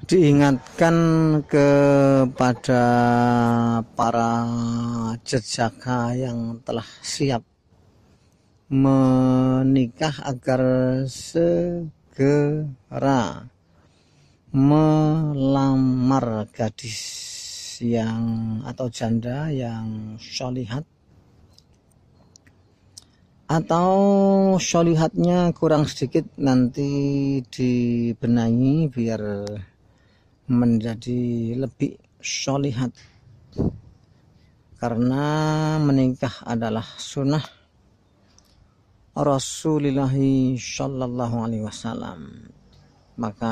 diingatkan kepada para jejaka yang telah siap menikah agar segera melamar gadis yang atau janda yang sholihat atau sholihatnya kurang sedikit, nanti dibenahi biar menjadi lebih sholihat, karena menikah adalah sunnah Rasulullah Shallallahu Alaihi Wasallam. Maka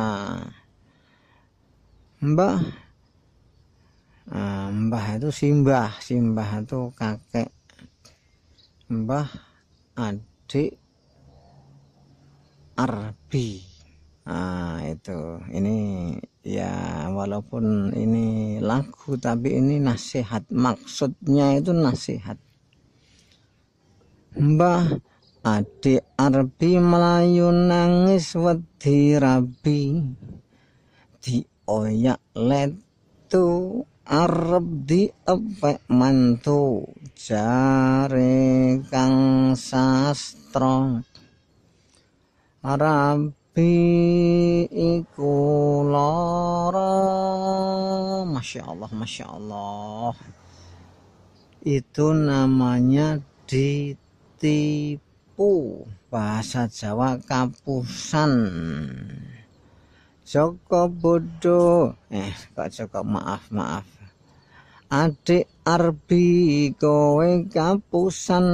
mbah itu simbah itu kakek, mbah adik arbi. Itu ini ya, walaupun ini lagu tapi ini nasihat, maksudnya itu nasihat. Mbah adik arbi melayu nangis wedi rabi, dioyak letu arep diepek mantu, jare kang sastra rabi iku lara. Masya Allah, itu namanya ditipu, bahasa Jawa kapusan. Joko bodoh, kok Joko, maaf adik arbi kowe kapusan,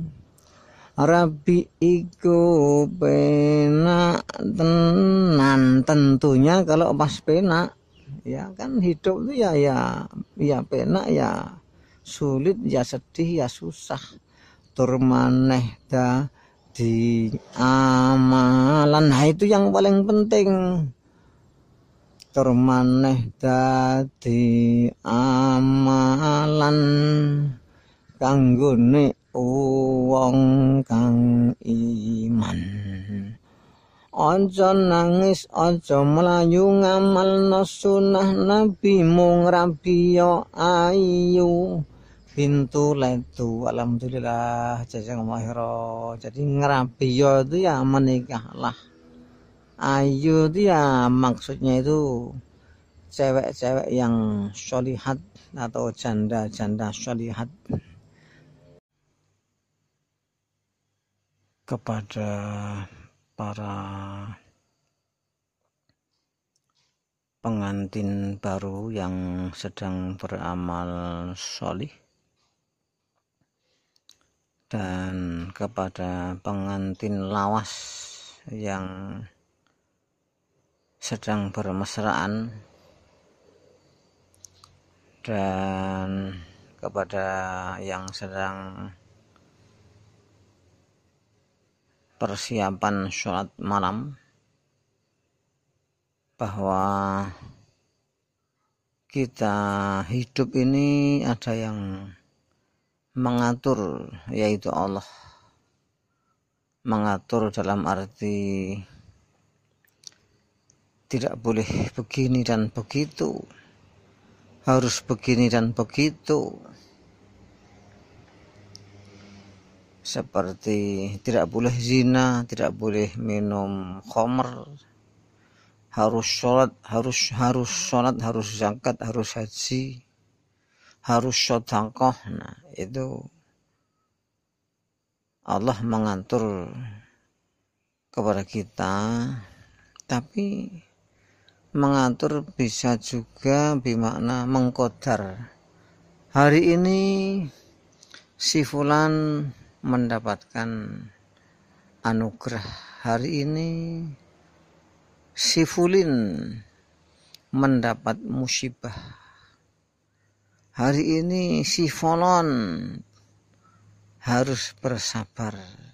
rabi iku penak tenan. Tentunya kalau pas penak, ya kan hidup itu ya penak, ya sulit, ya sedih, ya susah. Tur maneh di amalan, nah itu yang paling penting. Tur maneh dadi amalan kanggone wong kang iman. Aja nangis, aja melayu, ngamalna sunah nabi, mung rabiya ayu pintu letu. Alhamdulillah, jazakumullah. Jadi ngerabiya itu ya menikahlah. Ayu itu ya maksudnya itu cewek-cewek yang sholihat atau janda-janda sholihat. Kepada para pengantin baru yang sedang beramal sholih, dan kepada pengantin lawas yang sedang bermesraan, dan kepada yang sedang persiapan sholat malam, bahwa kita hidup ini ada yang mengatur, yaitu Allah. Mengatur dalam arti tidak boleh begini dan begitu, harus begini dan begitu. Seperti tidak boleh zina, tidak boleh minum khamr, harus sholat, harus zakat, harus haji, harus sedekah. Nah, itu Allah mengatur kepada kita, tapi mengatur bisa juga bermakna mengkodar. Hari ini si fulan mendapatkan anugerah, hari ini si fulin mendapat musibah, hari ini si fulon harus bersabar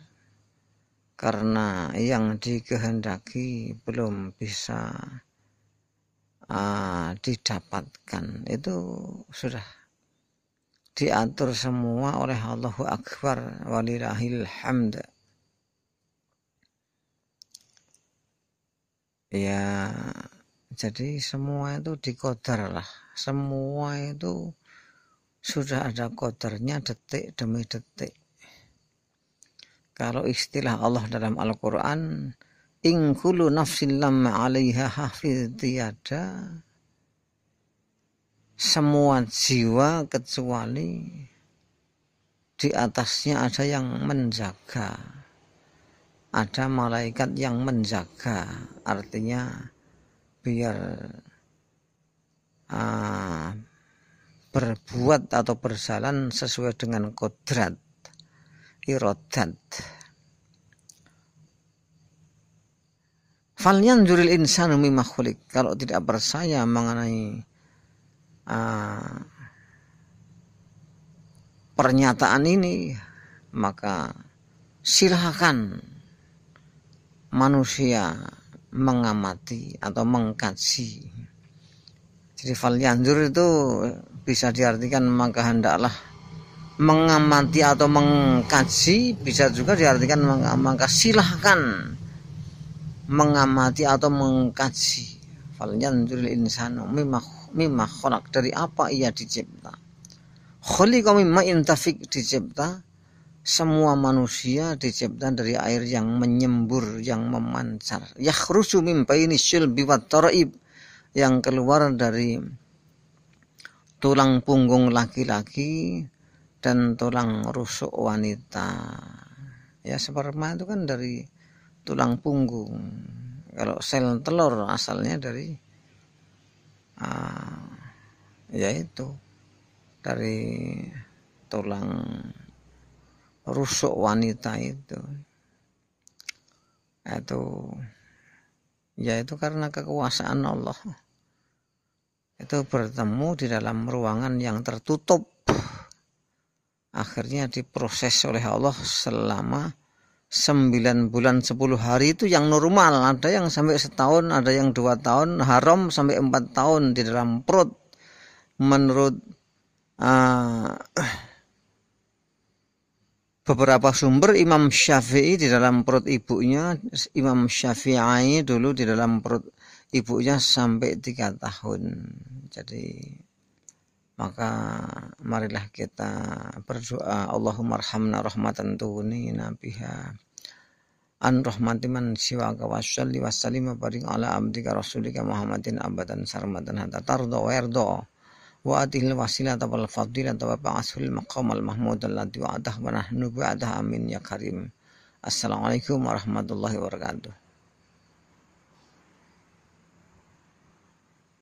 karena yang dikehendaki belum bisa didapatkan. Itu sudah diatur semua oleh Allahu Akbar, walillahil hamd. Ya, Jadi semua itu dikodar lah. Semua itu sudah ada kodarnya detik demi detik. Kalau istilah Allah dalam Al-Quran, in kullu nafsin lamma 'alaiha hafiz, tiada semua jiwa kecuali di atasnya ada yang menjaga. Ada malaikat yang menjaga. Artinya biar berbuat atau berjalan sesuai dengan kodrat, irodat. Falyanzuril insanu mimma khuliq. Kalau tidak percaya mengenai pernyataan ini, maka silakan manusia mengamati atau mengkaji. Jadi falyanzur itu bisa diartikan maka hendaklah mengamati atau mengkaji, bisa juga diartikan maka silahkan mengamati atau mengkaji. Falyanzuril insanu mimma khalaq, dari apa ia dicipta. Khuliqa mimma intafik, dicipta semua manusia dicipta dari air yang menyembur, yang memancar. Yakhruju min baini syulbi wat taraib, yang keluar dari tulang punggung laki-laki dan tulang rusuk wanita. Ya, sperma itu kan dari tulang punggung. Kalau sel telur asalnya dari yaitu dari tulang rusuk wanita itu yaitu karena kekuasaan Allah itu bertemu di dalam ruangan yang tertutup, akhirnya diproses oleh Allah selama 9 bulan 10 hari itu yang normal. Ada yang sampai setahun, ada yang 2 tahun, haram sampai 4 tahun di dalam perut menurut beberapa sumber. Imam Syafi'i di dalam perut ibunya, Imam Syafi'i dulu di dalam perut ibunya sampai 3 tahun. Jadi maka marilah kita berdoa, Allahumma arhamna rahmatan tughnina biha an rahmati man siwaka wa sholli wa sallim wa barik ala abdika rasulika Muhammadin abadan sarmadan hatta tarda wa yarda wa atihil wasilata wal fadilata wa ba'asul maqam al mahmud alladhi wa'adah wa nahnu bi'adah amin ya karim. Assalamualaikum warahmatullahi wabarakatuh.